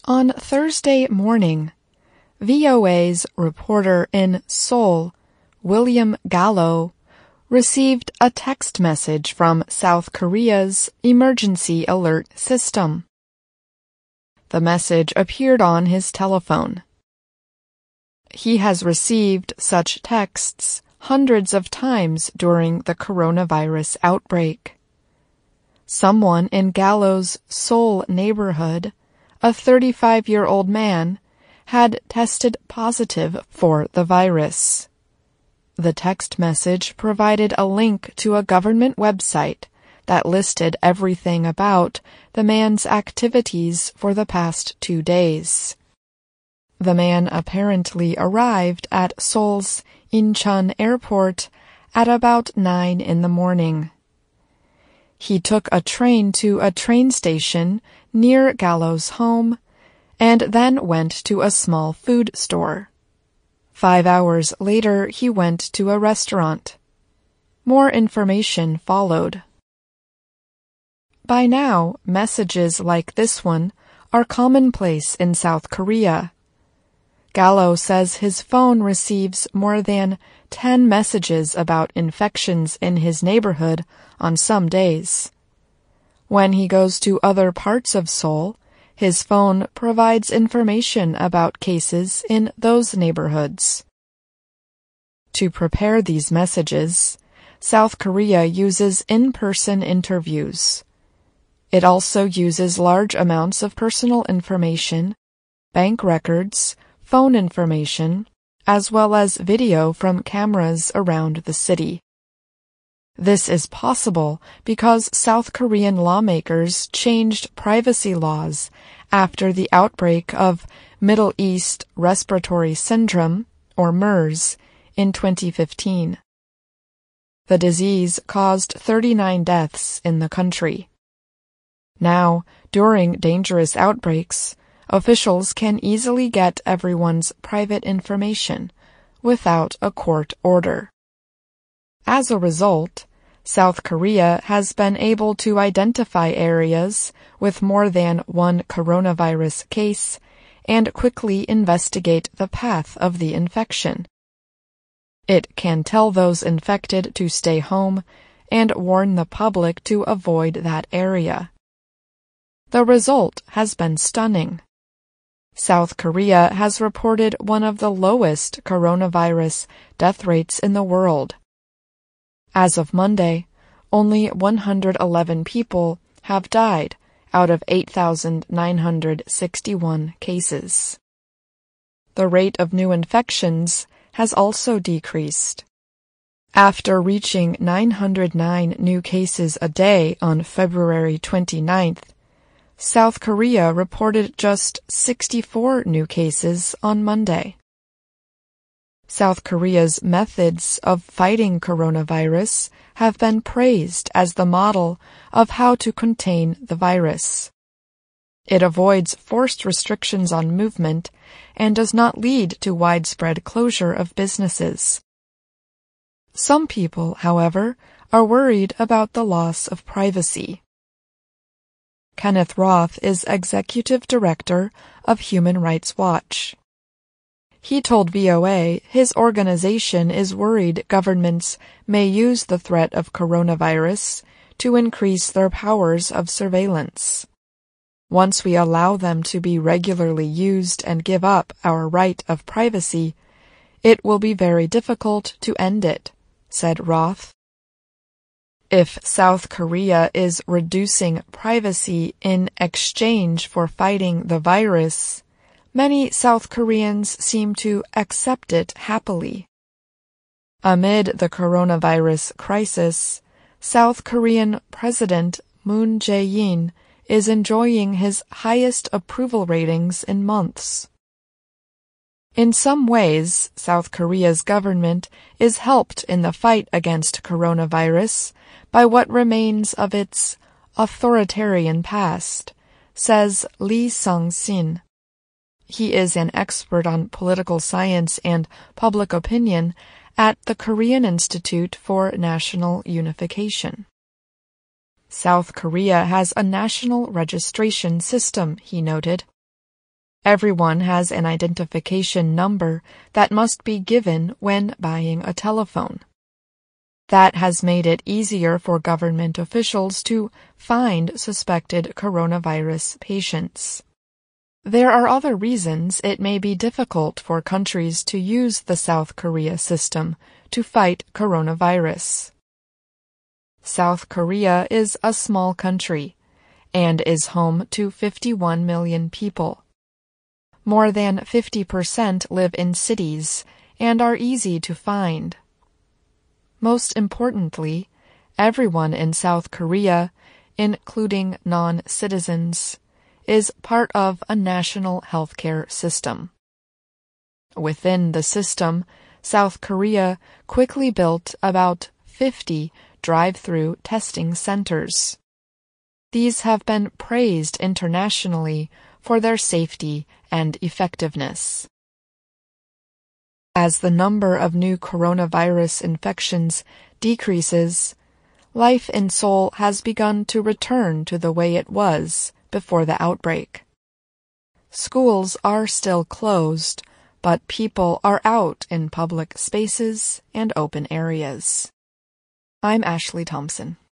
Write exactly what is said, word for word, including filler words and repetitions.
On Thursday morning, V O A's reporter in Seoul, William Gallo, received a text message from South Korea's emergency alert system. The message appeared on his telephone. He has received such texts hundreds of times during the coronavirus outbreak. Someone in Gallo's Seoul neighborhood, a thirty-five-year-old man, had tested positive for the virus. The text message provided a link to a government website that listed everything about the man's activities for the past two days. The man apparently arrived at Seoul's Incheon Airport at about nine in the morning. He took a train to a train station near Gallo's home and then went to a small food store. Five hours later, he went to a restaurant. More information followed. By now, messages like this one are commonplace in South Korea. Gallo says his phone receives more than ten messages about infections in his neighborhood on some days. When he goes to other parts of Seoul, his phone provides information about cases in those neighborhoods. To prepare these messages, South Korea uses in-person interviews. It also uses large amounts of personal information, bank records, phone information, as well as video from cameras around the city. This is possible because South Korean lawmakers changed privacy laws after the outbreak of Middle East Respiratory Syndrome, or MERS, in twenty fifteen. The disease caused thirty-nine deaths in the country. Now, during dangerous outbreaks, officials can easily get everyone's private information without a court order. As a result, South Korea has been able to identify areas with more than one coronavirus case and quickly investigate the path of the infection. It can tell those infected to stay home and warn the public to avoid that area. The result has been stunning. South Korea has reported one of the lowest coronavirus death rates in the world. As of Monday, only one hundred eleven people have died out of eight thousand nine hundred sixty-one cases. The rate of new infections has also decreased. After reaching nine hundred nine new cases a day on February twenty-ninth, South Korea reported just sixty-four new cases on Monday. South Korea's methods of fighting coronavirus have been praised as the model of how to contain the virus. It avoids forced restrictions on movement and does not lead to widespread closure of businesses. Some people, however, are worried about the loss of privacy. Kenneth Roth is executive director of Human Rights Watch. He told V O A his organization is worried governments may use the threat of coronavirus to increase their powers of surveillance. Once we allow them to be regularly used and give up our right of privacy, it will be very difficult to end it, said Roth. If South Korea is reducing privacy in exchange for fighting the virus, many South Koreans seem to accept it happily. Amid the coronavirus crisis, South Korean President Moon Jae-in is enjoying his highest approval ratings in months. In some ways, South Korea's government is helped in the fight against coronavirus by what remains of its authoritarian past, says Lee Sung-sin. He is an expert on political science and public opinion at the Korean Institute for National Unification. South Korea has a national registration system, he noted. Everyone has an identification number that must be given when buying a telephone. That has made it easier for government officials to find suspected coronavirus patients. There are other reasons it may be difficult for countries to use the South Korea system to fight coronavirus. South Korea is a small country and is home to fifty-one million people. More than fifty percent live in cities and are easy to find. Most importantly, everyone in South Korea, including non-citizens, is part of a national healthcare system. Within the system, South Korea quickly built about fifty drive-through testing centers. These have been praised internationally for their safety and effectiveness. As the number of new coronavirus infections decreases, life in Seoul has begun to return to the way it was before the outbreak. Schools are still closed, but people are out in public spaces and open areas. I'm Ashley Thompson.